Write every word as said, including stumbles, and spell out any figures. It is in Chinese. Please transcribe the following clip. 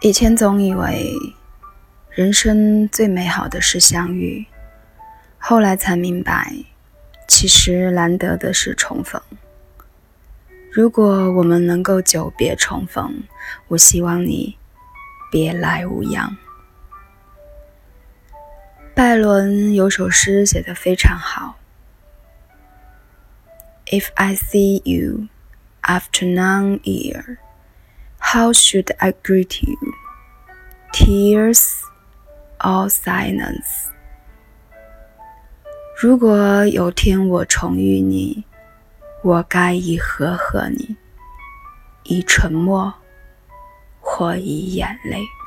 以前总以为人生最美好的是相遇，后来才明白，其实难得的是重逢。如果我们能够久别重逢，我希望你别来无恙。拜伦有首诗写得非常好， If I see you after nine years, how should I greet you? Tears or silence? 如果有天我重遇你，我该以何贺你？以沉默或以眼泪？